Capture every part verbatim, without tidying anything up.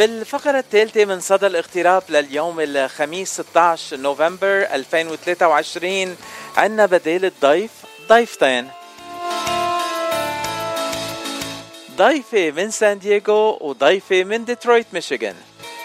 بالفقرة الثالثة من صدى الاغتراب لليوم الخميس ستة عشر نوفمبر ألفين وثلاثة وعشرين عنا بديل الضيف ضيفتين، ضيفة من سان دييغو وضيفة من ديترويت ميشيغان.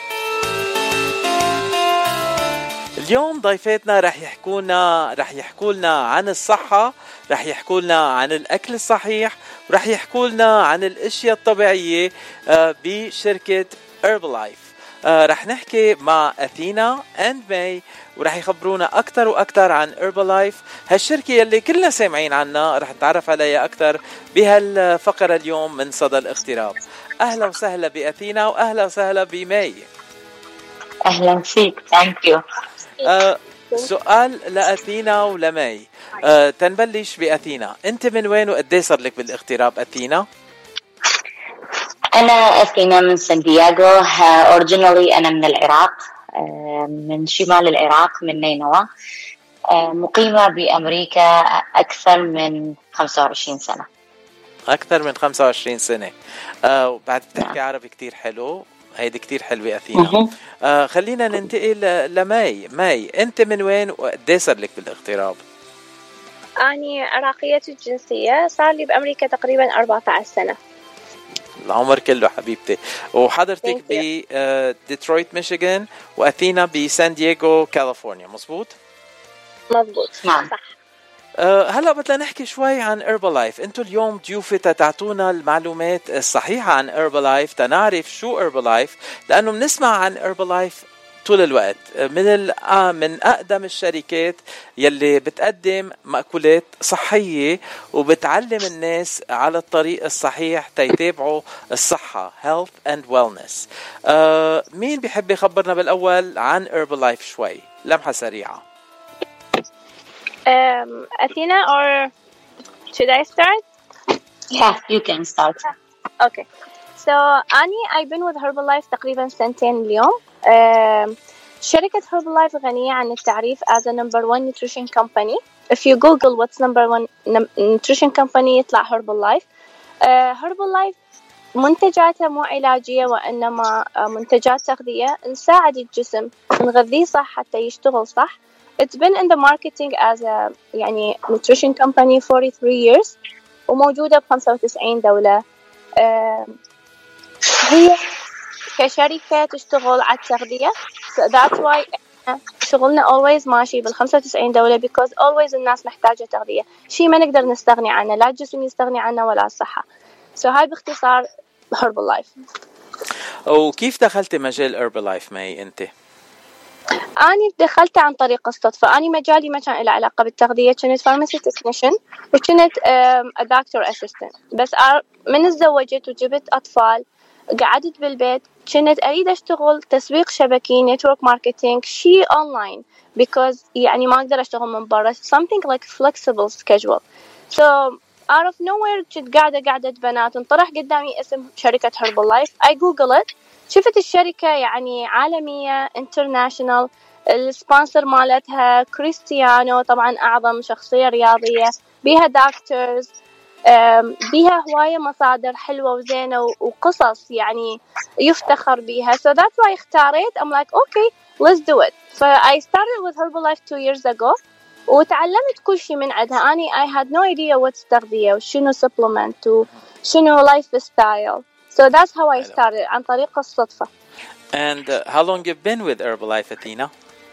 اليوم ضيفاتنا رح يحكونا رح يحكولنا عن الصحة، رح يحكولنا عن الأكل الصحيح، ورح يحكولنا عن الأشياء الطبيعية بشركة هيربلايف. رح نحكي مع أثينا اند ماي ورح يخبرونا أكتر وأكتر عن هيربلايف، هالشركة يلي كلنا سامعين عنها. رح نتعرف عليها أكتر بهالفقرة اليوم من صدى الاغتراب. أهلا وسهلا بأثينا وأهلا وسهلا بماي. أهلا فيك. ثانك يو. أه سؤال لأثينا ولماي. أه تنبلش بأثينا، أنت من وين وقديه صار لك بالاغتراب أثينا؟ أنا أثينا من سان دييغو. أوريجينالي أنا من العراق، من شمال العراق، من نينوى. مقيمة بأمريكا أكثر من خمسة وعشرين سنة. أكثر من خمسة وعشرين سنة. أه وبعد بتحكي نعم. عربي كتير حلو، هيدي كتير حلوة أثينا. آه خلينا ننتقل لماي. ماي أنت من وين وقديه صار لك بالاغتراب؟ أني عراقية الجنسية، صار لي بأمريكا تقريبا أربعة عشر سنة. العمر كله حبيبتي. وحضرتك بديترويت ميشيغان وأثينا بسان دييغو كاليفورنيا، مزبوط؟ مزبوط نعم صح. أه هلا بدنا نحكي شوي عن هيربلايف. انتو اليوم ضيوفة تعطونا المعلومات الصحيحة عن هيربلايف، تنعرف شو هيربلايف، لأنه بنسمع عن هيربلايف طول الوقت. من من أقدم الشركات يلي بتقدم مأكولات صحية وبتعلم الناس على الطريق الصحيح تيتابعوا الصحة health and wellness. أه مين بيحب يخبرنا بالأول عن هيربلايف شوي لمحة سريعة؟ Um, Athena, or should I start? Yeah, you can start. Okay. So, Ani, I've been with Herbalife تقريبا سنتين اليوم. Um, شركة Herbalife غنية عن التعريف as a number one nutrition company. If you Google what's number one nutrition company يطلع Herbalife. Uh, Herbalife منتجاتها مو علاجية وإنما منتجات تغذية، نساعد الجسم نغذيه صح حتى يشتغل صح. It's been in the marketing as a يعني nutrition company forty-three years وموجودة بخمسة وتسعين دولة. هي كشركة تشتغل على التغذية. So that's why شغلنا always ماشي بالخمسة وتسعين دولة because always الناس محتاجة تغذية، شيء ما نقدر نستغني عنه، لا الجسم يستغني عنه ولا الصحة. So هاي باختصار Herbalife. وكيف دخلت مجال Herbalife ماي أنت؟ أنا دخلت عن طريق الصدفة. أنا مجالي ما كان له علاقة بالتغذية، كنت فارماسي تكنيشن وكنت دكتور أسيستنت. بس من تزوجت وجبت أطفال قعدت بالبيت كنت أريد أشتغل تسويق شبكي نتورك ماركتينج شيء أونلاين because يعني ما أقدر أشتغل من برا something like flexible schedule. So out of nowhere كنت قاعدة قاعدة بنات انطرح قدامي اسم شركة Herbalife. I Google it، شفت الشركة يعني عالمية international، السبونسر مالتها كريستيانو طبعا أعظم شخصية رياضية، بيها دكتورز، بيها هواية مصادر حلوة وزينة وقصص يعني يفتخر بيها. So that's why اختاريت I'm like okay let's do it. So I started with Herbalife two years ago وتعلمت كل شيء من عندها. أني I had no idea what's تغذية وشنو supplement وشنو lifestyle. So that's how I started عن طريق الصدفة. And uh, how long you've been with Herbalife Athena?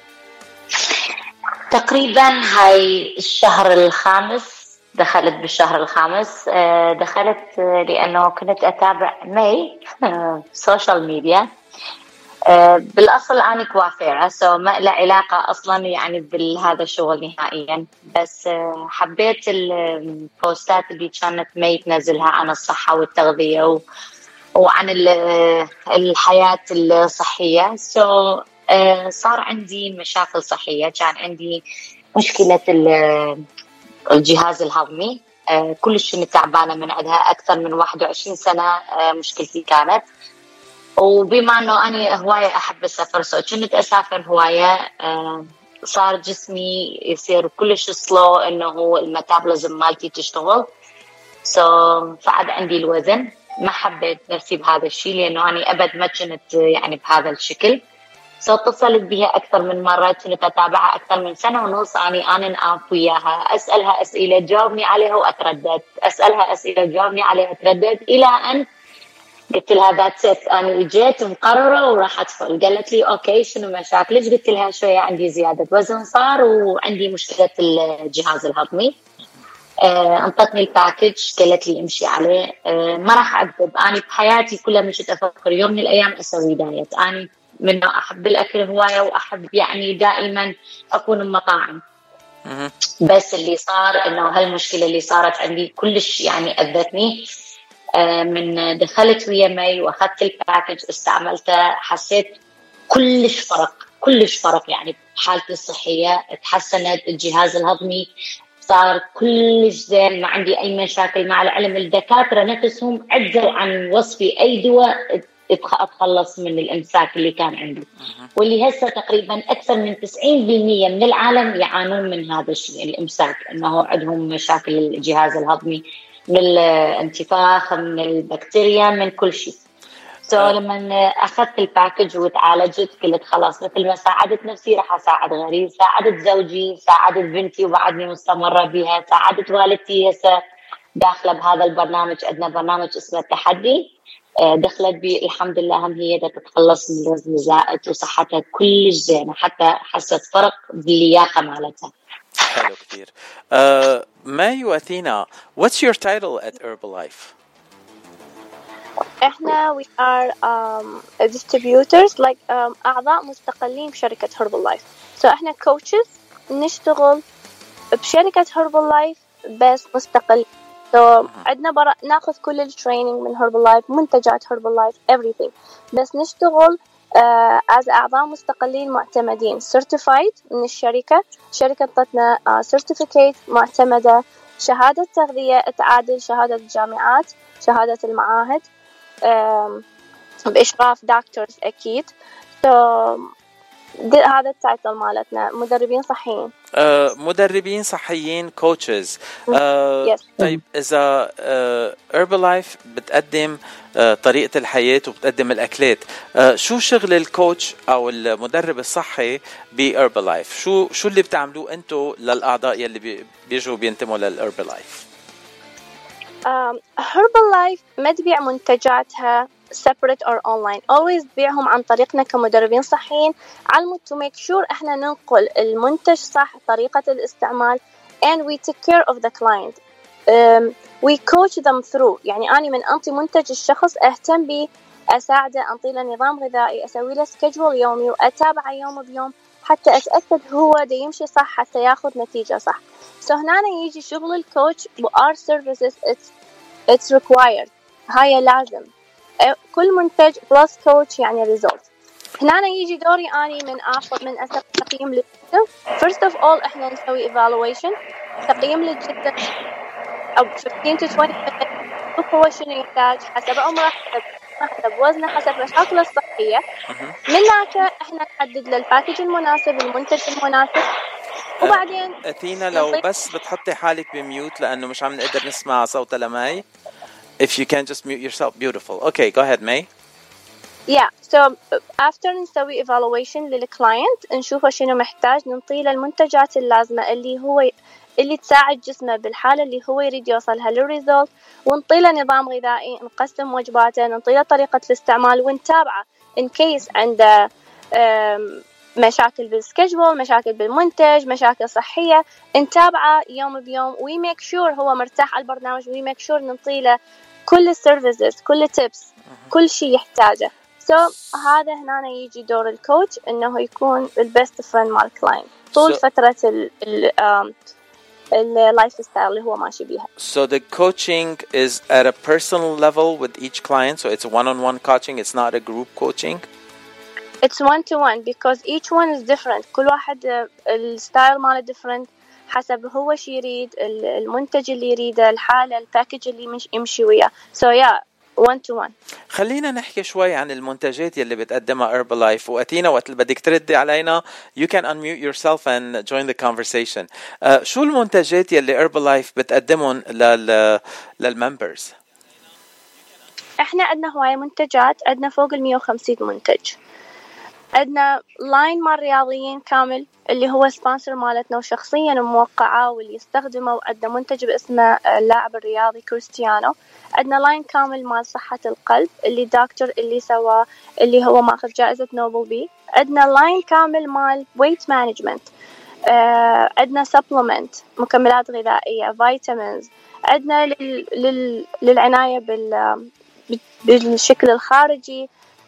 تقريبا هاي الشهر الخامس، دخلت بالشهر الخامس. دخلت لأنه كنت أتابع ماي سوشيال ميديا. بالأصل أنا كوافيرة so ما له علاقة أصلا يعني بهذا الشغل نهائيا، بس حبيت البوستات اللي كانت ماي تنزلها عن الصحة والتغذية و وعن الحياة الصحية. so, uh, صار عندي مشاكل صحية، كان عندي مشكلة الجهاز الهضمي. uh, كلش تعبانة من عندها أكثر من واحد وعشرين سنة. uh, مشكلتي كانت، وبما أنه أنا هواية أحب السفر so كنت أسافر هواية. uh, صار جسمي يصير كلش سلو، إنه الميتابوليزم مالتي تشتغل so فعد عندي الوزن. ما حبيت نفسي بهذا الشيء لأنه أنا أبد ما كنت يعني بهذا الشكل. اتصلت بها أكثر من مرة، كنت أتابعها أكثر من سنة ونص، أنا أنا نقاف وياها أسألها أسئلة تجاوبني عليها وأتردد، أسألها أسئلة تجاوبني عليها أتردد، إلى أن قلت لها ذاتس ات، أنا إجيت مقررة وراح أدخل. قالت لي أوكي شنو مشاكلك؟ قلت لها شوية عندي زيادة وزن صار وعندي مشكلة الجهاز الهضمي. آه، انطتني الباكج، قالت لي امشي عليه. آه، ما راح اكذب، انا بحياتي كلها مش افكر يوم من الايام اسوي دايت. انا من احب الاكل هوايه واحب يعني دائما اكون بمطاعم. بس اللي صار انه هالمشكله اللي صارت عندي كلش يعني اذتني. آه، من دخلت ويا مي واخذت الباكج استعملته، حسيت كلش فرق كلش فرق يعني بحالتي الصحيه، تحسنت الجهاز الهضمي، صار كلش زين، ما عندي أي مشاكل. مع العلم الدكاترة نفسهم عجزوا عن وصفي أي دواء أتخلص من الإمساك اللي كان عندي، واللي هسه تقريبا أكثر من تسعين بالمئة من العالم يعانون من هذا الشيء الإمساك، أنه عندهم مشاكل الجهاز الهضمي من الانتفاخ من البكتيريا من كل شيء. سو so, لما أخذت الباكج وتعالجت قلت خلاص مثل ما ساعدت نفسي راح أساعد غيري، ساعدت زوجي، ساعدت بنتي وبعدني مستمرة بها، ساعدت والدتي هسه داخلة بهذا البرنامج. عندنا برنامج اسمه التحدي، دخلت بي الحمد لله هم هي تتخلص من الوزن الزائد وصحتها كلش زينة، حتى حست فرق باللياقة مالتها. حلو كتير. uh, ماي وأثينا, what's your title at Herbalife? احنا we are um, distributors like um, اعضاء مستقلين بشركة Herbalife. so احنا coaches نشتغل بشركة Herbalife بس مستقل. so عندنا برا ناخذ كل التريننج من Herbalife، منتجات Herbalife everything، بس نشتغل uh, as اعضاء مستقلين معتمدين certified من الشركة. الشركة طتنا uh, certificate معتمدة، شهادة تغذية تعادل شهادة الجامعات، شهادة المعاهد بإشراف دكتورز أكيد. so, هذا التايتل مالتنا مدربين صحيين. uh, مدربين صحيين coaches. uh, yes. طيب إذا uh, Herbalife بتقدم uh, طريقة الحياة وبتقدم الأكلات، uh, شو شغل الكوتش أو المدرب الصحي بHerbalife؟ شو شو اللي بتعملوه أنتو للأعضاء يلي بيجوا بينتموا للHerbalife؟ Um, Herbalife ما تبيع منتجاتها separate or online، always تبيعهم عن طريقنا كمدربين صحيين، على to make sure احنا ننقل المنتج صح، طريقة الاستعمال and we take care of the client. um, we coach them through. يعني أنا من أنطي منتج الشخص أهتم بي، أساعده، أنطي له نظام غذائي، أسوي له schedule يومي وأتابعه يوم بيوم حتى أتأكد هو دا يمشي صح حتى ياخذ نتيجة صح. so هنا يجي شغل الكوتش و our services it's, it's required. هاي لازم كل منتج plus coach يعني result. هنا يجي دوري أني من آخذ من أسوي تقييم للجسم. first of all إحنا نسوي evaluation، تقييم للجسم أو fifteen to twenty minutes، شوف هو شنو يحتاج حسب عمره، حسب حسب وزنه، حسب مشاكله الصحية. من هناك إحنا نحدد له الباكج المناسب، المنتج المناسب. وبعدين أثينا لو بس بتحطي حالك بميوت لأنه مش عم نقدر نسمع صوت لماي. If you can just mute yourself, beautiful. Okay, go ahead, May. Yeah, so after نسوي evaluation للclient نشوفه شنو محتاج، ننطي له المنتجات اللازمة اللي هو اللي تساعد جسمه بالحالة اللي هو يريد يوصلها للريزولت، ونطي له نظام غذائي، نقسم وجباته، ننطي له طريقة الاستعمال ونتابعه in case عنده مشاكل بالسكجول، مشاكل بالمنتج، مشاكل صحية، نتابعه يوم بيوم وي ميك شور هو مرتاح على البرنامج، وي ميك شور ننطي له كل السيرفيسز، كل التيبس، كل شيء يحتاجه. so هذا هنا يجي دور الكوتش انه يكون البست فريند مال الكلاينت طول so, فترة ال ال اللايف ستايل اللي هو ماشي بيها. So the coaching is at a personal level with each client, so it's one-on-one coaching, it's not a group coaching. It's one to one because each one is different. كل واحد الستايل ماله different حسب هو شي يريد، المنتج اللي يريده، الحالة، الباكج اللي مش يمشي وياه. So yeah, one to one. خلينا نحكي شوي عن المنتجات يلي بتقدمها Herbalife. وأتينا وقت اللي بدك تردي علينا you can unmute yourself and join the conversation. uh, شو المنتجات يلي Herbalife بتقدمهم لل للممبرز؟ احنا عندنا هواية منتجات، عندنا فوق المية وخمسين منتج. عندنا لاين مال رياضيين كامل اللي هو سبونسر مالتنا وشخصيا موقعه واللي يستخدمه، وعندنا منتج باسمه اللاعب الرياضي كريستيانو. عندنا لاين كامل مال صحة القلب اللي دكتور اللي سواه اللي هو ماخذ جائزة نوبل بيه. عندنا لاين كامل مال ويت مانجمنت. آه عندنا سبلمنت مكملات غذائية فيتامينز. عندنا لل... لل... للعناية بال... بالشكل الخارجي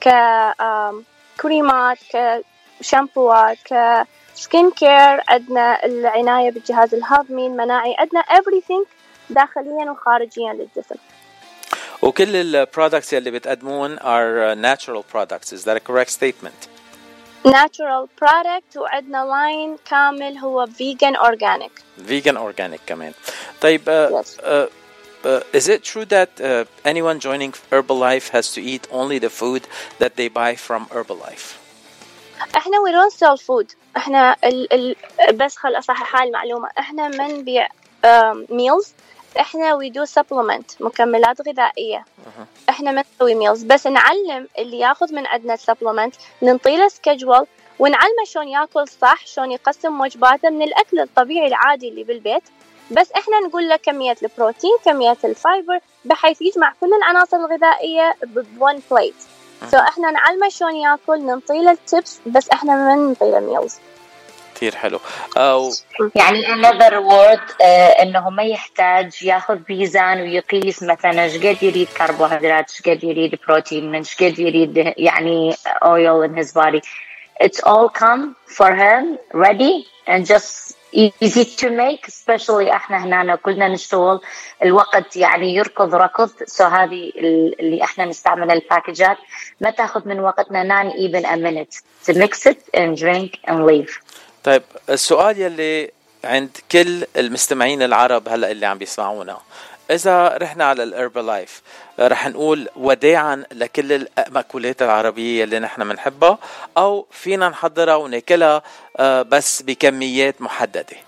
ككريمات كشامبوات كسكين كير. عندنا العناية بالجهاز الهضمي المناعي. عندنا everything داخليا وخارجيا للجسم. وكل البرودكتس اللي بتقدمون are natural products. Is that a correct statement? natural product. وعندنا لاين كامل هو vegan organic. vegan organic كمان. طيب uh, yes. uh, uh, is it true that uh, anyone joining Herbalife has to eat only the food that they buy from Herbalife? احنا we don't sell food. احنا ال ال بس خل اصحح هاي المعلومة، احنا ما نبيع um, meals. احنا we do supplement مكملات غذائية. uh-huh. احنا ما نسوي meals، بس نعلم اللي ياخذ من عندنا supplement، ننطيله schedule ونعلمه شلون ياكل صح، شلون يقسم وجباته من الاكل الطبيعي العادي اللي بالبيت. بس احنا نقول له كمية البروتين كمية الفايبر بحيث يجمع كل العناصر الغذائية بون بليت. سو so احنا نعلمه شلون ياكل، ننطيله التبس، بس احنا ما ننطيله ميلز. كثير حلو. أو يعني another word آه انه ما يحتاج ياخذ ميزان ويقيس مثلا ايش قد يريد كربوهيدرات، ايش قد يريد بروتين، ايش قد يريد يعني oil in his body. It's all come for him ready and just easy to make. especially احنا هنا كلنا نشتغل الوقت يعني يركض ركض. so هذه اللي احنا نستعمل الباكجات ما تاخذ من وقتنا not even a minute to mix it and drink and leave. طيب السؤال يلي عند كل المستمعين العرب هلا اللي عم بيسمعونا، إذا رحنا على الهربلايف رح نقول وداعا لكل المأكولات العربية اللي نحن منحبها، أو فينا نحضرها وناكلها بس بكميات محددة؟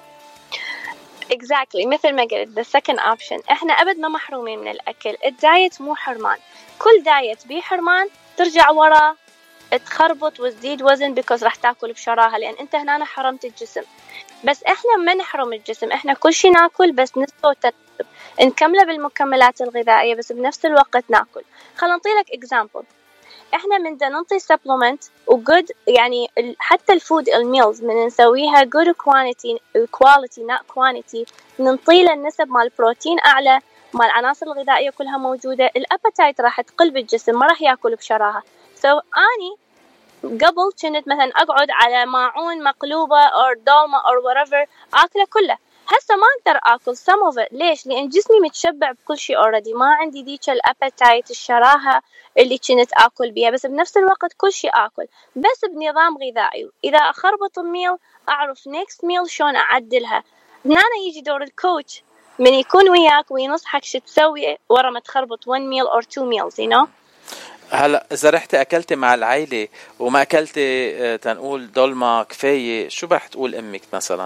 exactly مثل ما قلت the second option. احنا أبد ما محرومين من الأكل. الدايت مو حرمان، كل دايت بيه حرمان ترجع ورا تخربط وتزيد وزن because راح تاكل بشراهة، لأن أنت هنا حرمت الجسم. بس إحنا ما نحرم الجسم، إحنا كل شيء ناكل بس نسبة وترتيب، نكمله بالمكملات الغذائية بس بنفس الوقت ناكل. خلنا نعطيلك example. إحنا من دا ننطي supplement وgood يعني حتى الفود الميلز من نسويها good quantity quality not quantity، ننطيله النسب مال البروتين أعلى، مال العناصر الغذائية كلها موجودة. الأبتايت راح تقل بالجسم، ما راح ياكل بشراهة. so أني قبل كنت مثلا أقعد على ماعون مقلوبة أو دولمة أو whatever أكله كله. هسه ما أقدر أكل some of it. ليش؟ لأن جسمي متشبع بكل شيء already، ما عندي ديك الأبتايت الشراهة اللي كنت أكل بيها، بس بنفس الوقت كل شيء أكل بس بنظام غذائي. إذا أخربط الميل أعرف next meal شلون أعدلها. هنا يجي دور الكوتش من يكون وياك وينصحك شو تسوي ورا ما تخربط one meal or two meals you know. هلا إذا رحت أكلت مع العائلة وما أكلت تنقول دولمة كفاية، شو رح تقول أمك مثلا؟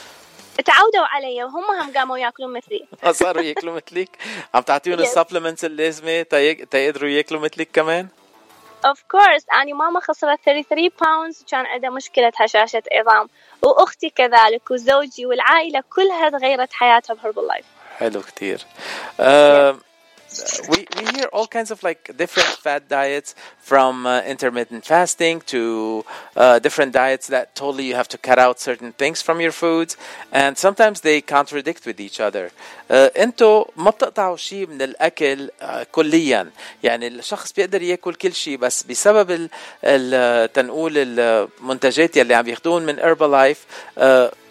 تعودوا علي وهم هم قاموا ياكلون مثلي. صاروا ياكلوا مثلك؟ عم تعطيهم السبلمنتس اللازمة تيقدروا ياكلوا مثلك كمان؟ of course. أنا ماما خسرت thirty-three pounds وكان عندها مشكلة هشاشة عظام، وأختي كذلك وزوجي والعائلة كلها تغيرت حياتها بهربلايف. حلو كتير. uh, we we hear all kinds of like different fad diets, from uh, intermittent fasting to uh, different diets that totally you have to cut out certain things from your foods, and sometimes they contradict with each other. uh, انتو ما بتقطعوا شيء من الاكل uh, كليا، يعني الشخص بيقدر ياكل كل شيء بس بسبب ال ال تنقول المنتجات اللي عم ياخدون من هربلايف uh,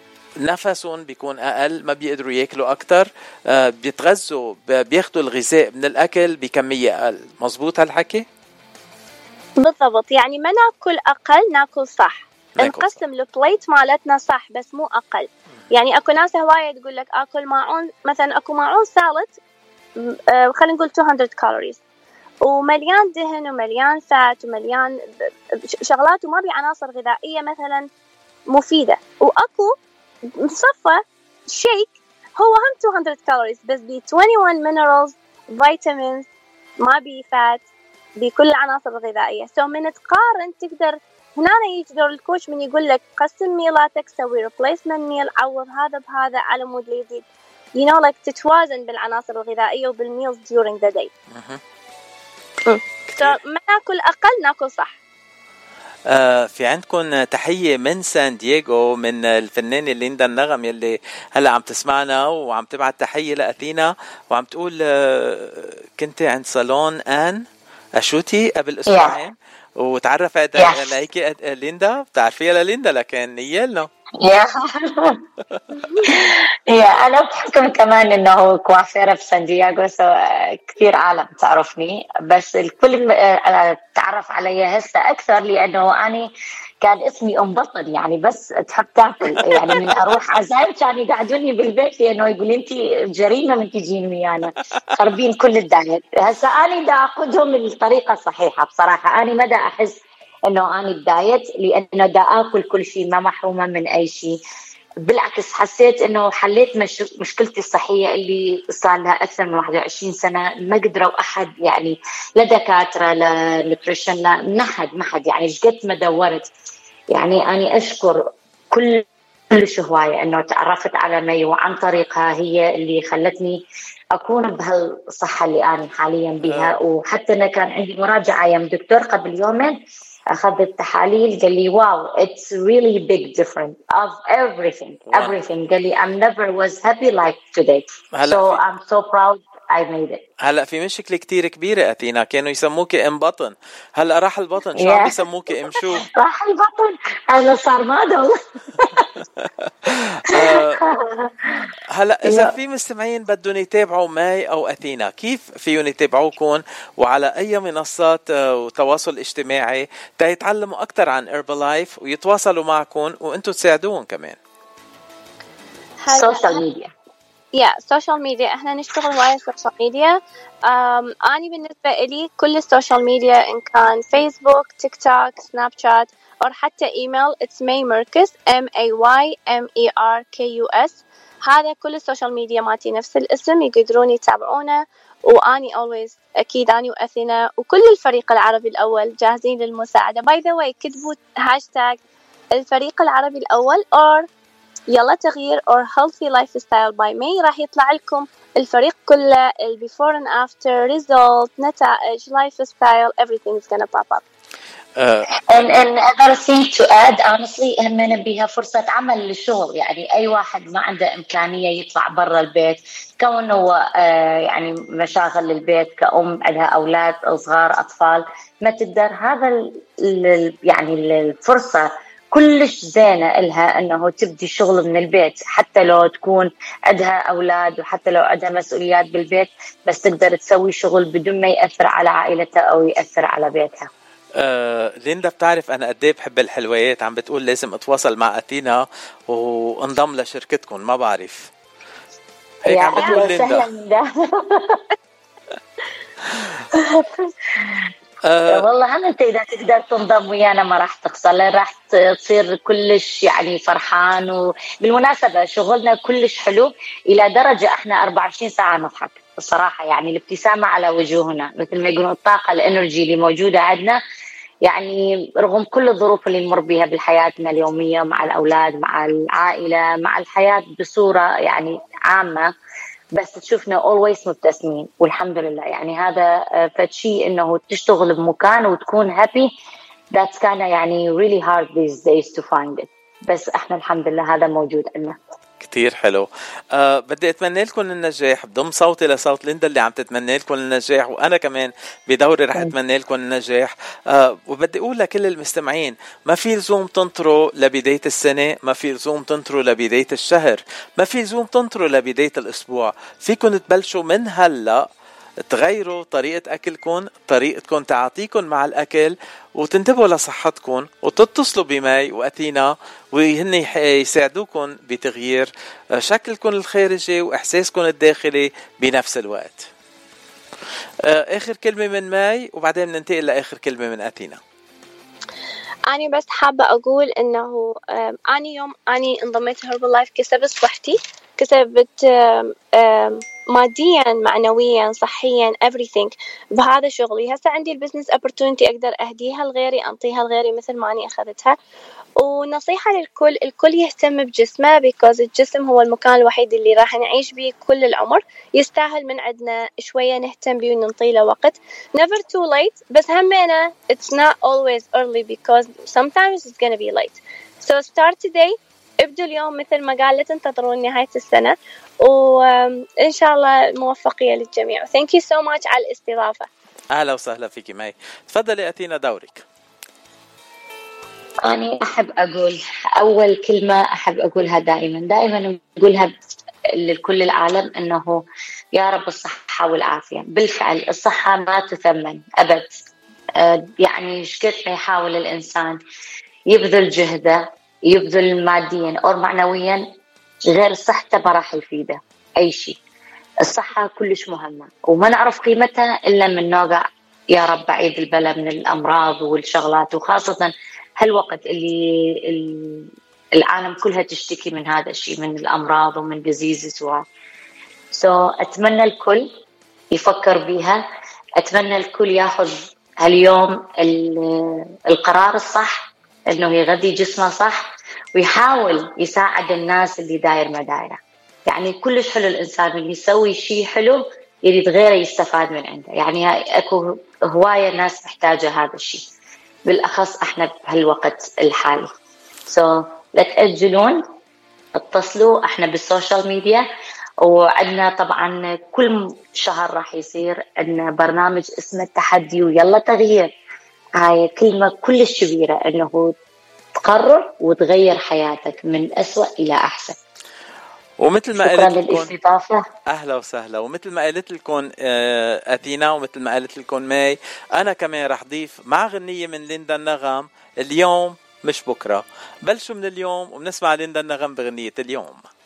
نفسهم بيكون أقل، ما بيقدروا يأكلوا أكتر، آه بيتغذوا بياخدوا الغذاء من الأكل بكمية أقل. مزبوط هالحكي؟ بالضبط. يعني ما ناكل أقل، ناكل صح، نقسم البليت مالتنا صح بس مو أقل. يعني أكو ناس هواية تقول لك أكل معون، مثلا أكو معون سالت آه خلينا نقول two hundred calories ومليان دهن ومليان فات ومليان شغلات وما بي عناصر غذائية مثلا مفيدة، وأكو مصفى شيك هو هم two hundred calories بس بي twenty-one minerals vitamins ما بي فات، بكل العناصر الغذائية. سو من تقارن تقدر هنا يجي دور الكوش من يقول لك قسم ميلاتك، سوي replacement ميل، عوض هذا بهذا على مود اللي يزيد you know like تتوازن بالعناصر الغذائية وبالميلز during the day. so ما ناكل أقل ناكل صح. آه في عندكم تحية من سان دييغو من الفنانة ليندا النغم يلي هلا عم تسمعنا وعم تبعت تحية لأثينا وعم تقول آه كنت عند صالون آن أشوتي قبل أسبوعين yeah. وتعرفت yes. عليك ليندا، بتعرفيها لليندا لكن نيالنا يا يا أنا بحكم كمان إنه كوافيرة في سان دييغو، سو كثير عالم تعرفني، بس الكل تعرف علي هسه أكثر لأنه أنا كان اسمي أم بطل، يعني بس تحب تاكل، يعني من أروح عزايم كانوا يقعدوني بالبيت لأنه يقول أنتي جريمة من تجين ويانا خربين كل الدايت. هسه أنا دا أخذهم الطريقة الصحيحة بصراحة، أنا ما دا أحس إنه أنا الدايت لأنه دا أكل كل شيء، ما محرومة من أي شيء. بالعكس حسيت إنه حليت مش مشكلتي الصحية اللي صار لها أكثر من واحد وعشرين سنة، ما قدروا أحد يعني لا دكاترة لا نوتريشن لا نحد ما حد يعني شقد ما دورت. يعني أنا أشكر كل كل هواية إنه تعرفت على مي وعن طريقها هي اللي خلتني أكون بهالصحة اللي أنا حاليا بها. وحتى أنا كان عندي مراجعة يوم دكتور قبل يومين أخذت تحاليل قال لي واو it's really big difference of everything wow. everything قال لي I'm never was happy like today so I'm so proud I made it. هلا في مشكلة كتير كبيرة أثينا، كانوا يسموكي ام بطن، هلا راح البطن شو عم بيسموكي ام شو؟ راح البطن هلا صار مادو. هلا إذا في مستمعين بدهم يتابعوا ماي أو أثينا كيف فيهم يتابعوكم وعلى أي منصات وتواصل اجتماعي تيتعلموا أكتر عن هيربلايف ويتواصلوا معكم وأنتم تساعدوهم كمان؟ سوشيال ميديا يا سوشيال ميديا احنا نشتغل وايد سوشيال ميديا. أنا بالنسبة إلي كل السوشيال ميديا إن كان فيسبوك تيك توك سناب شات أو حتى إيميل it's May Merkes M A Y M E R K U S. هذا كل السوشيال ميديا ماتي نفس الاسم، يقدرون يتابعونا. وأني always أكيد أني وأثينا وكل الفريق العربي الأول جاهزين للمساعدة. by the way كتبوا هاشتاج الفريق العربي الأول or يلا تغيير or healthy lifestyle by May، راح يطلع لكم الفريق كله ال before and after result نتائج lifestyle everything is gonna pop up. Uh, and and other thing to add honestly همنا بها فرصة عمل للشغل، يعني أي واحد ما عنده إمكانية يطلع برا البيت كونه uh, يعني مشاغل البيت كأم عندها أولاد صغار أطفال ما تقدر هذا ال يعني الفرصة كلش زينة إلها أنه تبدي شغل من البيت حتى لو تكون عندها أولاد وحتى لو عندها مسؤوليات بالبيت، بس تقدر تسوي شغل بدون ما يأثر على عائلتها أو يأثر على بيتها. آه، ليندا بتعرف أنا قديه بحب الحلويات، عم بتقول لازم أتواصل مع أثينا وانضم لشركتكم، ما بعرف هيك عم بتقول ليندا. أه والله هم انت اذا تقدر تنضم ويانا ما راح تخسر، راح تصير كلش يعني فرحان. وبالمناسبه شغلنا كلش حلو الى درجه احنا أربعة وعشرين ساعه نضحك الصراحه، يعني الابتسامه على وجوهنا مثل ما يقولون الطاقه الانرجي اللي موجوده عندنا، يعني رغم كل الظروف اللي نمر بها بحياتنا اليوميه مع الاولاد مع العائله مع الحياه بصوره يعني عامه، بس تشوفنا always مبتسمين والحمد لله. يعني هذا فشي إنه تشتغل بمكان وتكون happy that's kind of يعني really hard these days to find it، بس إحنا الحمد لله هذا موجود عندنا. كتير حلو. أه بدي أتمنى لكم النجاح، بضم صوتي لصوت ليندا اللي عم تتمنى لكم النجاح، وأنا كمان بدوري رح أتمنى لكم النجاح. أه وبدي أقول لكل المستمعين ما في لزوم تنطروا لبداية السنة، ما في لزوم تنطروا لبداية الشهر، ما في لزوم تنطروا لبداية الأسبوع، فيكم تبلشوا من هلأ تغيروا طريقة أكلكم، طريقتكم تعاطيكم مع الأكل، وتنتبهوا لصحتكم وتتصلوا بماي وأثينا وهن يساعدوكم بتغيير شكلكم الخارجي وإحساسكم الداخلي بنفس الوقت. آخر كلمة من ماي وبعدين ننتقل لآخر كلمة من أثينا. أنا بس حابة أقول إنه أنا يوم أنا انضميت هيربلايف كسبت صحتي، كسبت ماديا معنويا صحيا everything بهذا شغلي. هسه عندي البزنس opportunity أقدر أهديها لغيري، أنطيها لغيري مثل ما أني أخذتها. ونصيحة للكل، الكل يهتم بجسمه because الجسم هو المكان الوحيد اللي راح نعيش به كل العمر، يستاهل من عندنا شوية نهتم به وننطي له وقت. never too late، بس همينة it's not always early because sometimes it's gonna be late. so start today، ابدوا اليوم مثل ما قال، لا تنتظرون نهاية السنة، وإن شاء الله موفقية للجميع. thank you so much على الاستضافة. أهلا وسهلا فيك ماي، تفضلي أتينا دورك. أنا أحب أقول أول كلمة أحب أقولها دائما دائما أقولها لكل العالم، أنه يا رب الصحة والعافية. بالفعل الصحة ما تثمن أبد. يعني شكد ما يحاول الإنسان يبذل جهده، يبذل ماديا أو معنويا، غير صحته ما راح يفيده أي شيء. الصحة كلش مهمة وما نعرف قيمتها إلا من نوقع يا رب بعيد البلا من الأمراض والشغلات، وخاصة هالوقت اللي العالم كلها تشتكي من هذا الشيء، من الأمراض ومن diseases و so أتمنى الكل يفكر بيها. أتمنى الكل ياخذ هاليوم القرار الصح، إنه يغذي جسمه صح ويحاول يساعد الناس اللي داير ما دايره. يعني كلش حلو الإنسان اللي يسوي شيء حلو يريد غيره يستفاد من عنده. يعني أكو هواية ناس محتاجة هذا الشيء، بالأخص إحنا بهالوقت الحالي. so لا تأجلون، اتصلوا، إحنا بالسوشيال ميديا، وعندنا طبعا كل شهر راح يصير عندنا برنامج اسمه التحدي ويلا تغيير. هاي كلمة كلش كبيرة، إنه تقرر وتغير حياتك من أسوأ إلى أحسن. ومثل ما شكرا قلت للاستضافة. أهلا وسهلا. ومثل ما قلت لكم أثينا، ومثل ما قلت لكم ماي، أنا كمان رح ضيف مع غنية من ليندا النغم اليوم مش بكرة. بلشوا من اليوم وبنسمع ليندا النغم بغنية اليوم.